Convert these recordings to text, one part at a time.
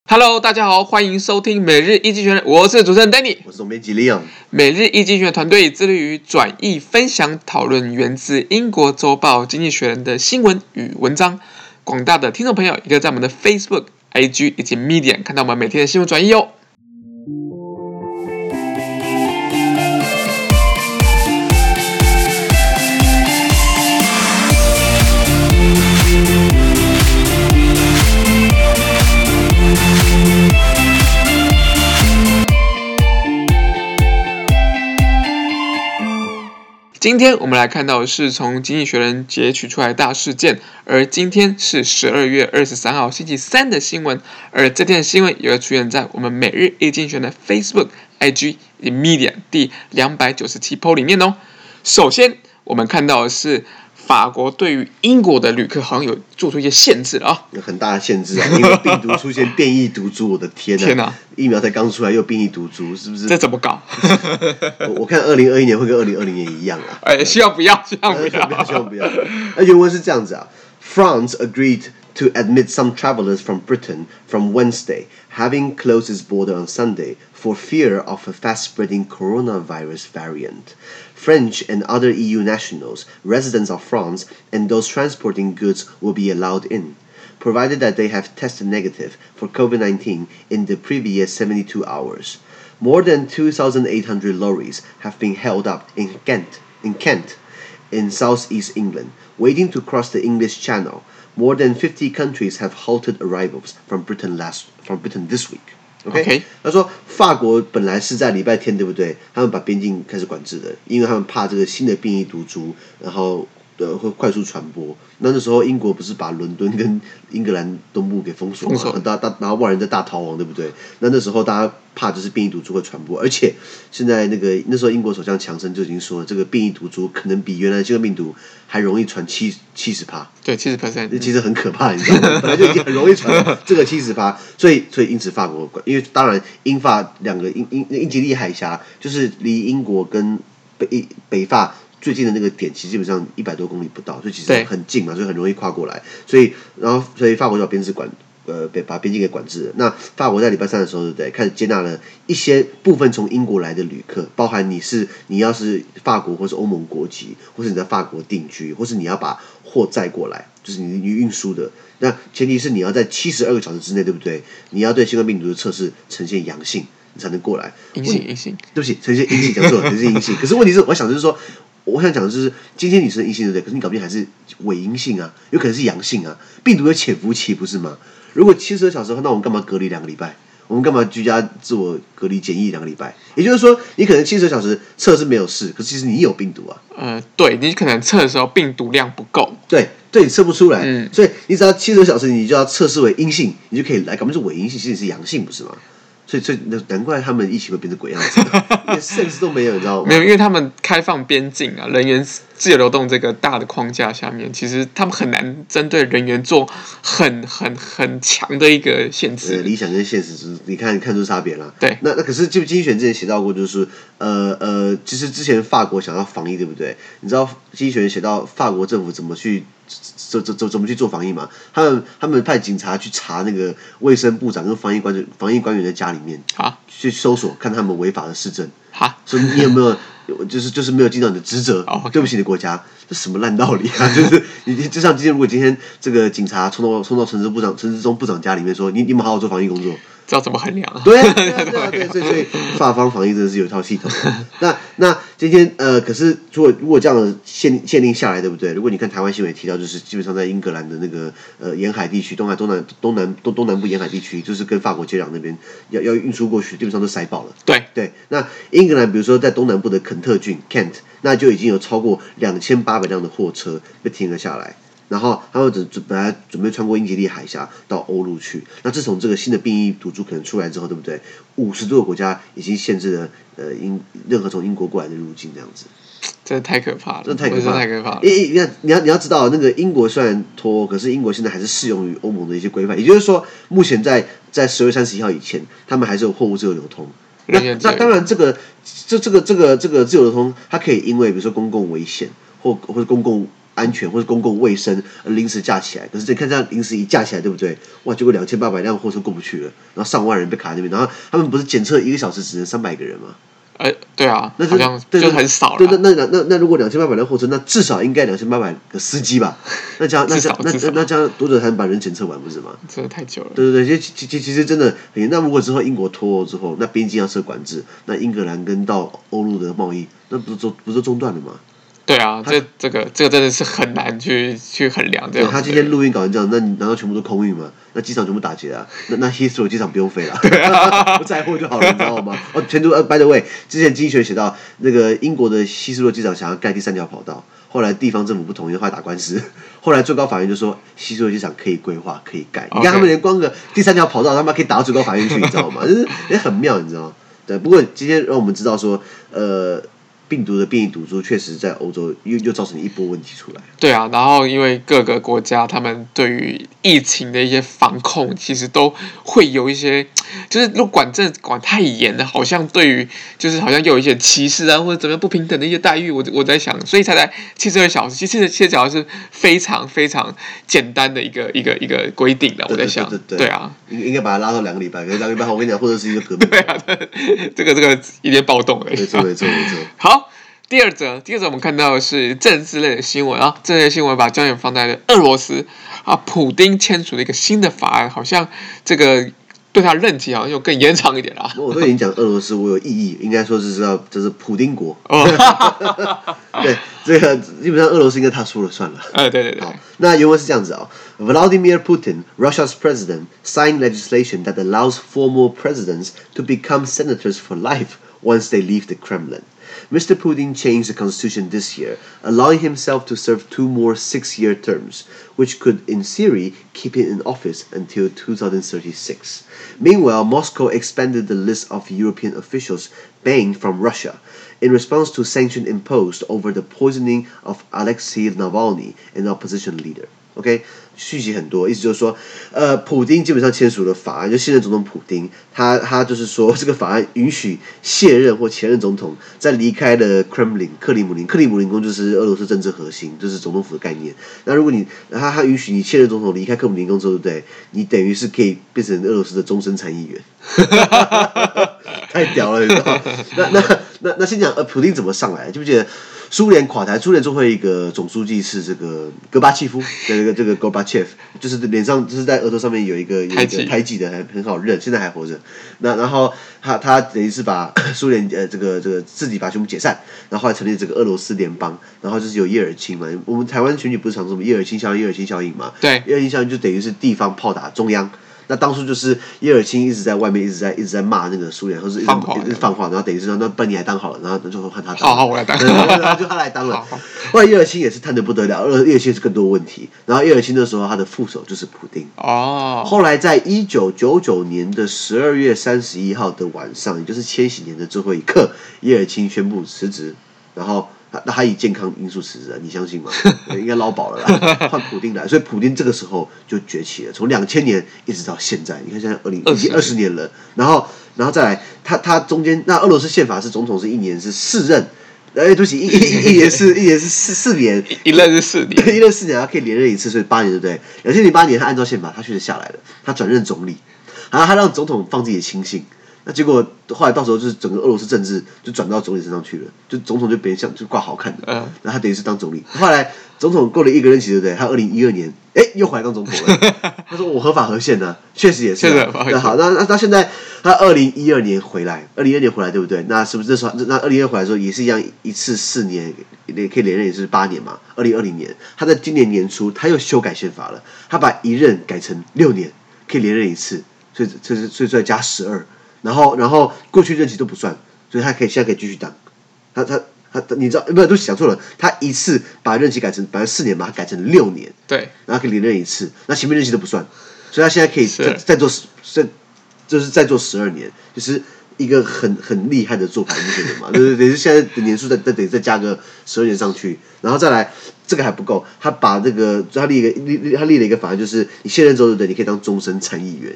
Hello， 大家好，歡迎收聽每日一經濟學人，我是主持人 Danny， 我是總編輯 Leon。 每日一經濟學人團隊致力於轉譯、分享、討論源自英國週報《經濟學人》的新聞與文章。廣大的聽眾朋友也可以在我們的 Facebook、IG 以及 Medium 看到我們每天的新聞轉譯哦。今天我們來看到的是從《經濟學人》截取出來的大事件，而今天是12月23號星期三的新聞，而這天的新聞也會出現在我們每日一經濟學人的 Facebook、IG 以及 Medium 第297 po 裡面哦。首先，我們看到的是法國對於英國的旅客好像有做出一些限制了啊， 有很大的限制啊，因為病毒出現變異毒株，我的天啊！疫苗才剛出來又變異毒株，是不是？ 這怎麼搞？ 我看2021年會跟2020年一樣啊。 希望不要，希望不要。原文是這樣子啊 ：France agreed to admit some travelers from Britain from Wednesday, having closed its border on Sunday for fear of a fast-spreading coronavirus variant. French and other EU nationals, residents of France, and those transporting goods will be allowed in, provided that they have tested negative for COVID-19 in the previous 72 hours. More than 2,800 lorries have been held up in Kent, in southeast England, waiting to cross the English Channel. More than 50 countries have halted arrivals from Britain this week.OK， 他說法國本來是在禮拜天，對不對？他們把邊境開始管制的，因為他們怕這個新的變異毒株，然後會快速傳播。那時候英國不是把倫敦跟英格蘭東部給封鎖嘛，然後萬人在大逃亡，對不對？那時候大家怕就是變異毒株會傳播，而且現在那時候英國首相強生就已經說了，這個變異毒株可能比原來新冠病毒還容易傳70%。 對，70%， 其實很可怕，你知道嗎？本來就已經很容易傳這個70%，所以因此法國，因為當然英法兩個英吉利海峽就是離英國跟北法最近的那個點，其實基本上100多公里不到，所以其實很近嘛，所以很容易跨過來。所以法國就把把邊境給管制了。那法國在禮拜三的時候，對不对？開始接納了一些部分從英國來的旅客，包含你要是法國或是歐盟國籍，或是你在法國定居，或是你要把貨載過來，就是你運輸的。那前提是你要在72個小時之內，對不對？你要對新冠病毒的測試呈現陽性，你才能過來。 陰性。 對不起，呈现陰性，講錯了，呈現陰性。可是問題是，我想講的就是，今天你是陰性，對不對？可是你搞不定還是偽陰性啊，有可能是陽性啊。病毒有潛伏期，不是嗎？如果72小時後，那我們幹嘛隔離2個禮拜？我們幹嘛居家自我隔離檢疫2個禮拜？也就是說，你可能72小時測是沒有事，可是其實你有病毒啊。 對，你可能測的時候病毒量不夠。 對，你測不出來。所以你只要72小时，你就要測試為陰性，你就可以來。搞不定是偽陰性，其實是陽性，不是嗎？所以難怪他們疫情會變成鬼樣子，連 sense 都沒有，你知道嗎？ 沒有，因為他們開放邊境啊，人員自由流動這個大的框架下面，其實他們很难針對人員做很強的一個限制。 理想跟現實，你看出差別了。 對， 那可是就經濟學人之前寫到過，就是其實之前法國想要防疫，對不對？你知道經濟學人寫到法國政府怎麼去做防疫嘛？他們派警察去查那個衛生部長跟防疫官員的家裡面去搜索，看他們違法的事證。所以你有沒有就是沒有盡到你的職責？對不起你的國家，這什麼爛道理啊！就是你就像如果今天這個警察衝到陳時中部長家裡面說，你有沒有好好做防疫工作？ 知道怎麼衡量啊？ 對，所以法方防疫真的是有一套系統的。那今天可是如果這樣的限令下來，对不对？如果你看台灣新聞也提到，就是基本上在英格蘭的那個沿海地区，東南部沿海地區，就是跟法國接壤那邊要運輸過去，基本上都塞爆了。對，那英格蘭比如說在東南部的肯特郡 Kent， 那就已經有超过2800輛的貨車被停了下來。然後他們本來準備穿過英吉利海峽到歐陸去，那自從這個新的變異毒株可能出來之後，對不對？50多個國家已經限制了任何從英國過來的入境，這樣子。 真的太可怕了， 真的太可怕了。你要知道，那個英國雖然脫歐，可是英國現在還是適用於歐盟的一些規範，也就是說，目前在12月31號以前，他們還是有貨物自由流通。那當然，這個自由流通，它可以因為比如說公共危險或者公共安全或者公共衛生而臨時架起來。可是你看這樣臨時一架起來，對不對？哇，結果2800輛貨車過不去了，然後上萬人被卡在那邊，然後他們不是檢測1個小時只能300個人嗎？ 对啊， 那好像就很少了。 对，那如果2800輛貨车，那至少應該2800個司機吧？那這樣多久才能把人檢測完，不是嗎？ 真的太久了。 对，其實真的很嚴。那如果之後英國脫歐之後，那邊境要設管制，那英格蘭跟到歐陸的貿易，那不是中斷了嗎？ 对啊，這個真的是很難去衡量這樣。 他今天錄音搞成這樣，那難道全部都空運嗎？那機場全部打劫啊？那 Heathrow 機場不用飛了，不載貨就好了，你知道嗎？全都by the way， 之前經濟學寫到那個英國的希斯罗機場想要蓋第3條跑道，後來地方政府不同意，後來打官司，後來最高法院就說希斯罗機場可以規劃可以蓋。你看他們連光個第3條跑道，他們可以打到最高法院去，你知道嗎？就是也很妙，你知道嗎？對，不過今天讓我們知道說，病毒的变異毒株確實在歐洲又造成一波問題出來。 對啊，然後因為各個國家他們對於疫情的一些防控，其實都會有一些，就是如果管太嚴了，好像對於就是好像又有一些歧視啊，或者怎麼樣不平等的一些待遇。我在想，所以才來72小時，其實72小時是非常非常簡單的一個規定的。我在想，對啊， 應該把它拉到2個禮拜，可是2個禮拜後我跟你講，或者是一個革命。 對啊，這個有點暴動了。 沒錯。 好。第二則我們看到的是政治類的新聞啊，這類新聞把焦點放在了俄羅斯啊，普丁簽署了一個新的法案，好像這個對他任期好像又更延長一點啦。我都已經講俄羅斯，我有異議，應該說這是普丁國。對，這個基本上俄羅斯應該他說了算了。 對。 好，那原文是這樣子啊。Vladimir Putin, Russia's president, signed legislation that allows former presidents to become senators for life once they leave the Kremlin. Mr. Putin changed the constitution this year, allowing himself to serve 2 more 6-year terms, which could, in theory, keep him in office until 2036. Meanwhile, Moscow expanded the list of European officials banned from Russia in response to sanctions imposed over the poisoning of Alexei Navalny, an opposition leader. OK， 讯息很多，意思就是說，普丁基本上簽署了法案，就现任总統普丁，他就是說，這個法案允許卸任或前任總統在離開了 Kremlin 克里姆林宮就是俄羅斯政治核心，就是總統府的概念。那如果他允許你現任總統離開克里姆林宮之後，對不對？你等於是可以變成俄羅斯的終身參議員，太屌了，你知道嗎？那先講普丁怎麼上來，記不記得？蘇聯垮台，蘇聯最後一個總書記是這個戈巴契夫，這個 Gorbachev， 就是臉上就是在額頭上面有一個胎記的，很好認，現在還活着。然後他等於是把蘇聯這個自己把全部解散，然後後來成立這個俄羅斯聯邦，然後就是有葉爾欽嘛。我們台灣選舉不是常說什麼葉爾欽效應嘛？ 對， 葉爾欽效應就等於是地方炮打中央。那當初就是葉爾欽一直在外面一直在罵那個蘇聯，或是一直放話，然後等於是那不然你來當好了，然後就換他當。 好，我來當。 然後就他來當了。後来葉爾欽也是貪得不得了，葉爾欽是更多問題。然後葉爾欽那時候他的副手就是普丁。後來在1999年的12月31號的晚上，也就是千禧年的最後一刻，葉爾欽宣布辭職，然後。那他以健康因素辭職，你相信嗎？應該撈飽了啦，換普丁來，所以普丁這個時候就崛起了，從2000年一直到現在，你看現在已經20年了，然後再來，他中間那俄羅斯憲法是總統是1年是4任，對不起，一年是4年， 一任是4年， 一任4年，他可以連任一次，所以8年，對不對？2008年他按照憲法他確實下來了，他轉任總理，然後他讓總統放自己的親信。那結果後來到時候就是整個俄羅斯政治就轉到總理身上去了，就總統就別人像就掛好看的，然後他等於是當總理。後來總統過了1個任期，對不對？他2012年又回來當總統了。他說我合法合憲呢，確實也是。那好，那到現在他2012年回來，對不对？那是不是這時候那2012回來的時候也是一樣，一次4年也可以連任，也是8年嘛？2020年他在今年年初他又修改憲法了，他把1任改成6年，可以連任一次，所以再加12。然後過去任期都不算，所以他現在可以繼續當。他你知道不是？都想錯了。他一次把任期改成本來4年嘛，他改成6年， 對， 然後可以連任一次。那前面任期都不算，所以他现在可以再做就是再做12年，就是一個很厲害的做法，你觉得嘛？对，現在的年數再加個12年上去，然後再來這個還不夠，他把這個他立了一個法案，就是你卸任之後，對不對？你可以當終身參議員。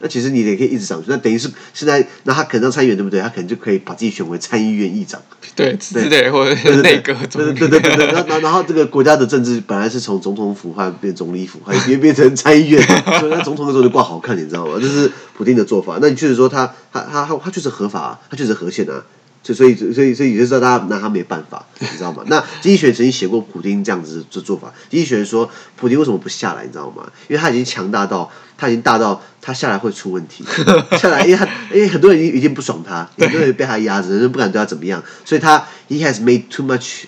那其實你也可以一直上去，那等於是現在，那他可能當參議員對不對？他可能就可以把自己選為參議院議長， 對之類，或者內閣總理， 對。然後這個國家的政治本來是從總統府換變總理府，還變成參議院，所以那總統的時候就掛好看，你知道嗎？這是普丁的做法。那你確實說他確實合法啊，他確實合憲啊。所以也就知道大家拿他沒辦法，你知道嗎？那經濟學人曾經寫過普丁這樣子的做法。經濟學人說，普丁為什麼不下來？你知道嗎？因為他已經強大到，他已經大到他下來會出問題。下來，因為很多人已經不爽他，很多人被他壓着，人不敢對他怎麼樣。所以he has made too much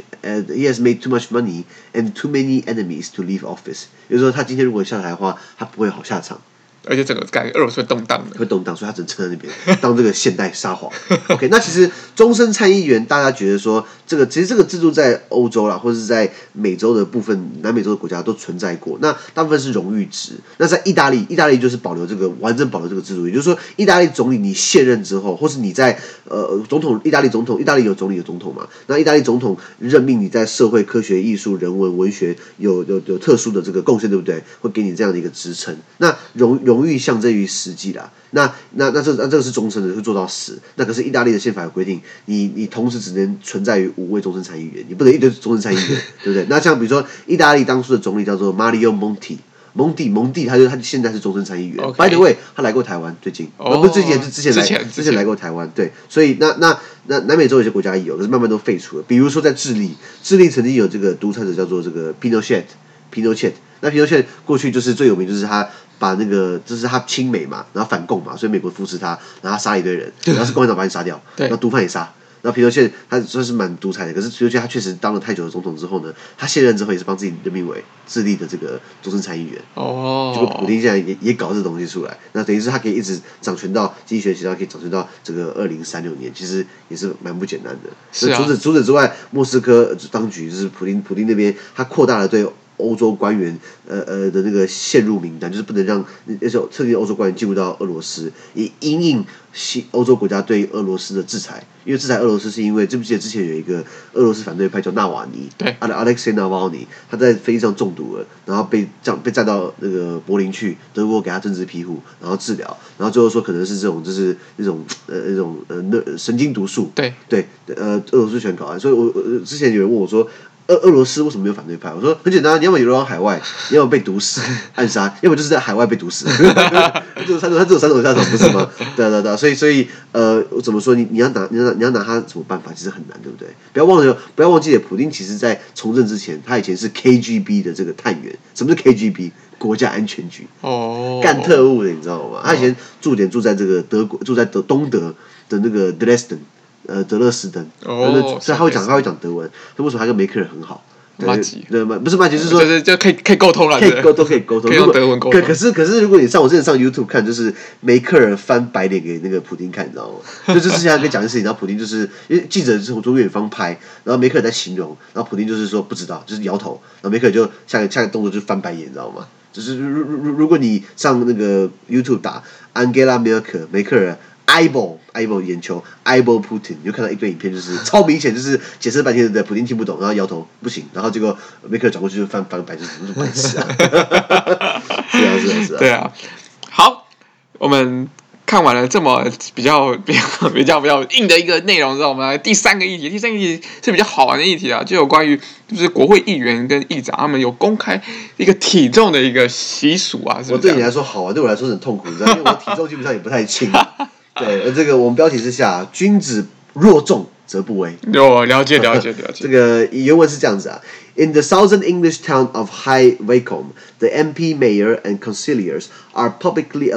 money and too many enemies to leave office。也就是說，他今天如果下台的話，他不會好下場。 而且整個感觉俄羅斯会动荡的， 会动荡，所以他只能撑在那邊当这个现代沙皇。OK， 那其實終身參議員，大家覺得說，其實這個制度在歐洲啦，或者是在美洲的部分，南美洲的國家都存在過。那大部分是榮譽值。那在意大利就是完整保留這個制度，也就是說，意大利總理你卸任之後，或是你在意大利有總理有總統嘛？那意大利總統任命你在社會、科學、藝術、人文、文學有特殊的這個貢獻，對不對？會給你這樣的一個職稱。那榮譽象徵於實際啦，那這個是終身的，會做到死。那可是意大利的憲法有規定，你同時只能存在於5位終身參議員，你不能一堆終身參議員，對不對？那像比如說意大利當初的總理叫做 Mario Monti，蒙蒂他現在是終身參議員。Okay. By the way， 他來過台灣，最近不是最近，是之前來過台灣。對，所以那南美洲有些國家也有，可是慢慢都廢除了。比如說在智利曾經有這個獨裁者叫做這個 Pinochet。那Pinochet過去就是最有名，就是他把就是他親美嘛，然後反共嘛，所以美國扶持他，然後他殺了一堆人，然後是共產黨把你殺掉，然後毒販也殺。然後Pinochet他算是蠻獨裁的，可是Pinochet他確實當了太久的總統之後呢，他卸任之後也是幫自己任命為智利的這個終身參議員。結果普丁現在也搞這東西出來，那等於是他可以一直掌權到經濟學家可以掌權到這個2036年，其實也是蠻不簡單的。是啊。除此之外，莫斯科當局就是普丁那邊，他擴大了對歐洲官員的那個陷入名單，就是不能讓那些特定的歐洲官員進入到俄羅斯，以因應歐洲國家對俄羅斯的制裁。因為制裁俄羅斯是因為記不記得之前有一個俄羅斯反對派叫納瓦尼，對，Alexei Navalny，他在飛機上中毒了，然後被載到那個柏林去，德國給他政治庇護，然後治療，然後最後說可能是這種就是那種神經毒素，對，俄羅斯全搞完，所以我之前有人問我說，俄羅斯為什麼沒有反對派？我說很簡單，你要麼流亡海外，你要麼被毒死、暗殺，要麼就是在海外被毒死。他只有3種下場，不是嗎？對，所以怎麼說？你要拿他什麼辦法？其實很難，對不對？不要忘記了，普丁其實在從政之前，他以前是 KGB 的這個探員。什麼是 KGB？國家安全局。幹特務的，你知道嗎？他以前駐在這個德國，住在東德的那個 Dresden。德勒斯登，所以他會講德文。他為什麼他跟梅克爾很好？不是麻吉，是說就可以溝通了， 可以溝通，可以用德文溝通。可是如果你我之前上 YouTube 看，就是梅克爾翻白臉給那個普丁看，你知道嗎？就之前他跟講的事情，然後普丁就是因為記者是從遠方拍，然後梅克爾在形容，然後普丁就是說不知道，就是搖頭，然後梅克爾就下個動作就是翻白眼，你知道嗎？就是如果你上那個 YouTube 打 Angela Merkel 梅克爾。eyeball 眼球 eyeball Putin， 你就看到一堆影片，就是超明顯，就是解釋半天的普丁聽不懂，然後搖頭不行，然後結果梅克爾轉過去就翻個白，就是什麼白痴啊！是啊。 對啊，好，我們看完了這麼比較硬的一個內容之後，我們來第三個議題。第三個議題是比較好玩的議題啊，就有關於就是國會議員跟議長他們有公開一個體重的一個習俗啊。是不是？ 我對你來說好玩，對我來說很痛苦，你知道，因為我體重基本上也不太輕。對，這個我們標題之下，君子若重則不威。了解。這個原文是這樣子啊。In the southern English town of High Wycombe, the MP, mayor, and councillors are publicly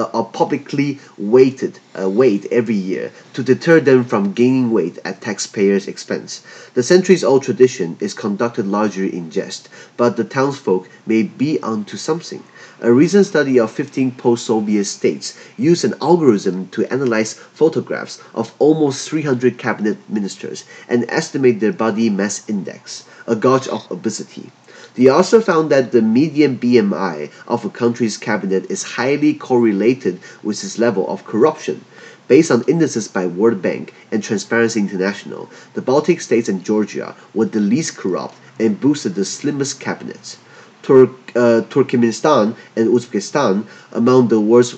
weighed every year to deter them from gaining weight at taxpayers' expense. The centuries-old tradition is conducted largely in jest, but the townsfolk may be onto something. A recent study of 15 post-Soviet states used an algorithm to analyze photographs of almost 300 cabinet ministers and estimate their body mass index, a gauge of obesity. The author found that the median BMI of a country's cabinet is highly correlated with its level of corruption. Based on indices by World Bank and Transparency International, the Baltic states and Georgia were the least corrupt and boasted the slimmest cabinets. Turkmenistan and Uzbekistan, among the worst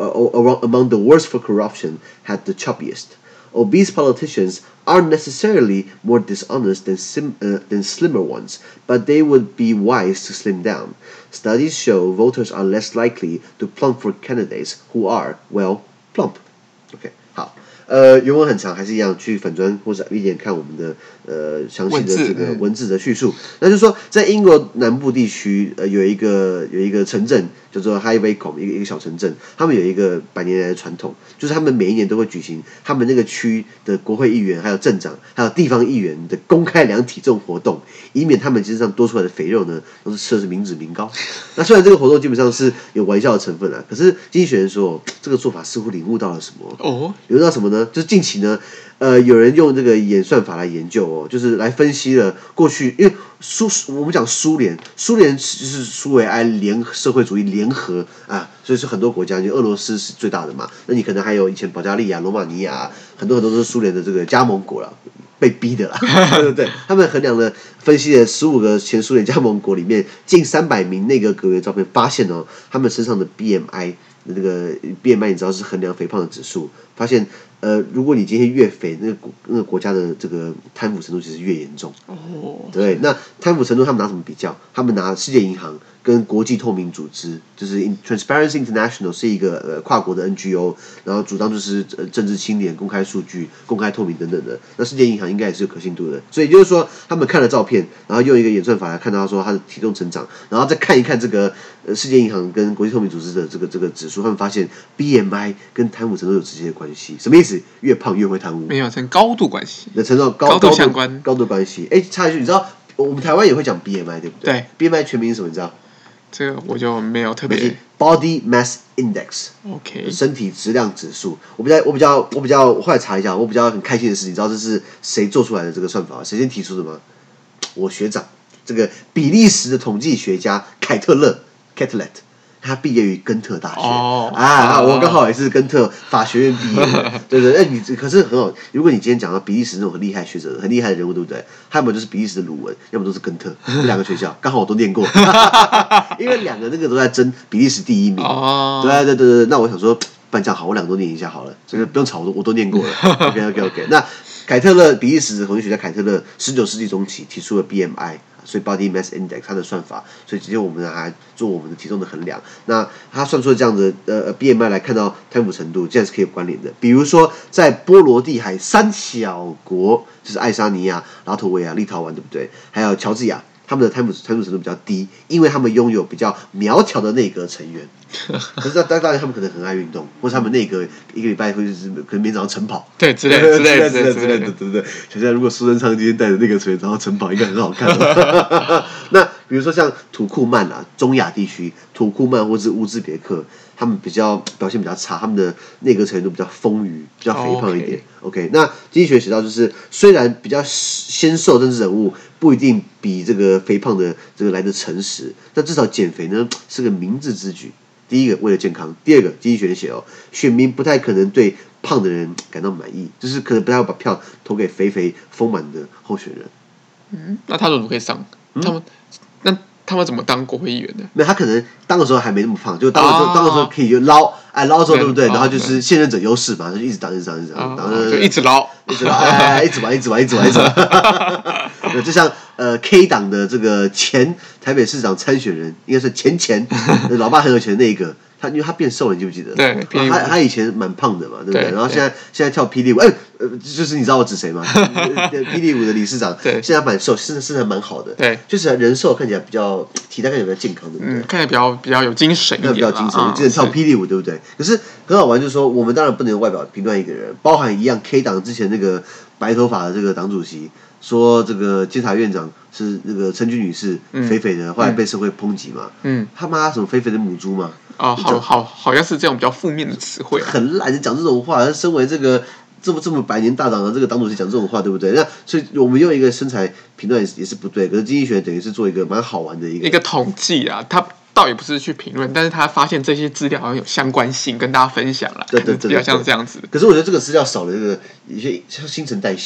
for corruption, had the choppiest. Obese politicians aren't necessarily more dishonest than slimmer ones, but they would be wise to slim down. Studies show voters are less likely to plump for candidates who are, well, plump. OK， 好。原文很长，还是一样去粉专或者一点看我们的详细的这个文字的叙述。那就是说，在英国南部地区，有一个城镇叫做 High Wycombe， 一个小城镇，他们有一个100年来的传统，就是他们每一年都会举行他们那个区的国会议员、还有镇长、还有地方议员的公開量體重活動，以免他們身上多出來的肥肉呢，都是吃的是民脂民膏。那雖然這個活動基本上是有玩笑的成分啊，可是經濟學人說，這個做法似乎領悟到了什麼？領悟到什麼呢？就是近期呢，有人用這個演算法來研究哦，就是來分析了過去，因為我們講蘇聯就是蘇維埃社會主義聯合啊，所以是很多國家，因為俄羅斯是最大的嘛，那你可能還有以前保加利亞、羅馬尼亞，很多都是蘇聯的這個加盟國啦，被逼的啦，對不對？他們衡量了分析了15個前蘇聯加盟國裡面近300名內閣閣員照片，發現哦，他們身上的 BMI。那個 BMI 你知道是衡量肥胖的指數，發現如果你今天越肥，那個國家的這個貪腐程度其實越嚴重。對，那貪腐程度他們拿什麼比較？他們拿世界銀行跟國際透明組織，就是 Transparency International 是一個跨國的 NGO， 然後主張就是政治清廉、公開數據、公開透明等等的。那世界銀行應該也是有可信度的，所以就是說他們看了照片，然後用一個演算法來看到說他的體重成長，然後再看一看這個世界銀行跟國際透明組織的這個指數，他們發現 BMI 跟貪腐程度有直接的關係。什麼意思？越胖越會貪污？ 沒有，成高度關係。 成到高度相關，高度關係。插一句，你知道我們台灣也會講 BMI 對不對？對 ，BMI 全名是什麼？你知道？這個我就沒有特別。Body Mass Index，OK， 身體質量指數。我比較，後來查一下，我比較很開心的是，你知道這是誰做出來的這個算法？誰先提出的嗎？我學長，這個比利時的統計學家凱特勒 （Catlett）。他畢業於根特大學我剛好也是根特法學院畢業的，對對，你可是很好。如果你今天講到比利時那種很厲害學者、很厲害的人物，對不對？他們就是比利時的魯文，要麼都是根特，這兩個學校剛好我都念過，因為兩個那個都在爭比利時第1名。對，那我想說，不然這樣好，我兩個都念一下好了，這個不用吵，我都念過了。OK。那凱特勒，比利時的統計學家凱特勒，19世紀中期提出了 BMI。所以 Body Mass Index 它的算法，所以直接我們來做我們的體重的衡量。那他算出了這樣的BMI 來看到貪腐程度，這樣是可以有關聯的。比如說，在波羅的海3小國，就是愛沙尼亞、拉脫維亞、立陶宛，對不對？還有喬治亞，他們的貪腐程度比較低，因為他們擁有比較苗條的內閣成員。可是當然他們可能很愛運動，或是他們內閣一個禮拜會就是可能每天早上晨跑，對之類的，對。想想如果蘇貞昌今天帶着內閣成員然後晨跑，應該很好看。那比如說像土庫曼啊，中亞地區，土庫曼或是烏茲別克，他們表現比較差，他們的內閣成員都比較豐腴，比較肥胖一點。OK， 那經濟學寫到就是雖然比較纖瘦政治人物不一定比這個肥胖的這個來得誠實，但至少減肥呢是個明智之舉。第一個為了健康，第二個經濟學寫選民不太可能對胖的人感到滿意，就是可能不太會把票投給肥豐滿的候選人。 那他怎麼可以上？他們怎麼當國會議員的？ 沒有，他可能當的時候還沒那麼胖，就當的時候可以就撈之後，對不對？然後就是現任者優勢嘛，就一直當，然後就一直撈， 一直玩。就像K 黨的這個前台北市長參選人，應該是前老爸很有錢的那一個。因為他變瘦了，你記不記得？ 對， 他以前蠻胖的嘛，對不對？然後現在跳霹靂舞，就是你知道我指誰嗎？霹靂舞的理事長，現在蠻瘦，身材蠻好的，對，就是人瘦看起來比較體態看起來比較健康，對不對？看起來比較有精神一點，比較精神，記得跳霹靂舞，對不對？可是很好玩，就是說我們當然不能用外表評斷一個人，包含一樣 K 黨之前那個白頭髮的這個黨主席。說這個監察院長是那個陳菊女士，肥肥的，後來被社會抨擊嘛。他媽什麼肥肥的母豬嘛？好像是這種比較負面的詞彙。很懶得講這種話，身為這個這麼百年大黨的這個黨主席講這種話，對不對？那所以我們用一個身材評斷也是不對。可是經濟學等於是做一個蠻好玩的一個統計啊，他倒也不是去評論，但是他發現這些資料好像有相關性，跟大家分享了。對，比較像這樣子。可是我覺得這個資料少了這個一些像新陳代謝。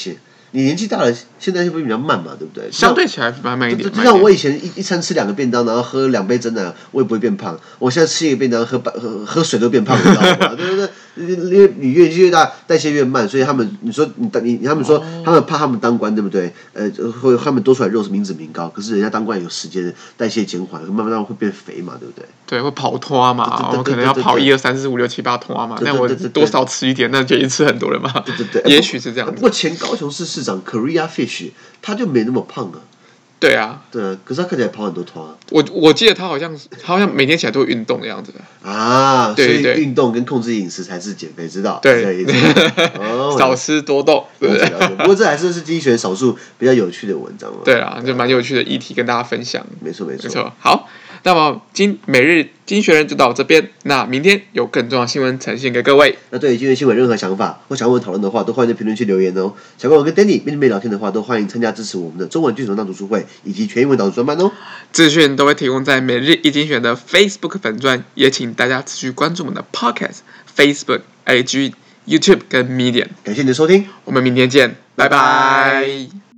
你年紀大了，現在會不會比較慢嘛，對不對？ 相對起来慢一點。 就像我以前一餐吃2個便當，然後喝2杯珍奶，我也不會變胖。我現在吃1個便當，喝水都變胖，你知道嗎？对不對？因為你越越大，代謝越慢，所以他們他們說他們怕他们当官，对不对？会他們多出來肉是民脂民膏，可是人家當官有時間代謝減緩，慢慢會變肥嘛，對不對？ 對，會跑拖嘛，我可能要跑1、2、3、4、5、6、7、8拖嘛，那我多少吃一點，那就已經吃很多了嘛。 對， 也許是這樣子。 不過前高雄市市長 Korea Fish 他就沒那麼胖啊。 對啊， 可是他看起來跑很多拖啊。 我記得他好像每天起来都會運動的樣子啊， 對， 所以運動跟控制飲食才是減肥之道。 對，少吃多動，對不对？ 不過這還是經濟學少數比較有趣的文章嘛。 對啊，就蠻有趣的議題跟大家分享。 沒錯。 好，那麼每日經濟學人就到這邊，那明天有更重要的新聞呈現給各位。 那對於今天新聞任何想法或想要我們討論的話，都歡迎在評論區留言哦。想跟我跟 Danny 面對面聊天的話，都歡迎參加支持我們的中文句子文檔讀書會以及全英文導讀專班哦。 資訊都會提供在每日一經濟學人的 Facebook 粉專，也請大家持續關注我們的 Podcast、Facebook、IG、YouTube 跟 Medium。 感謝你的收聽， 我們明天見，拜拜。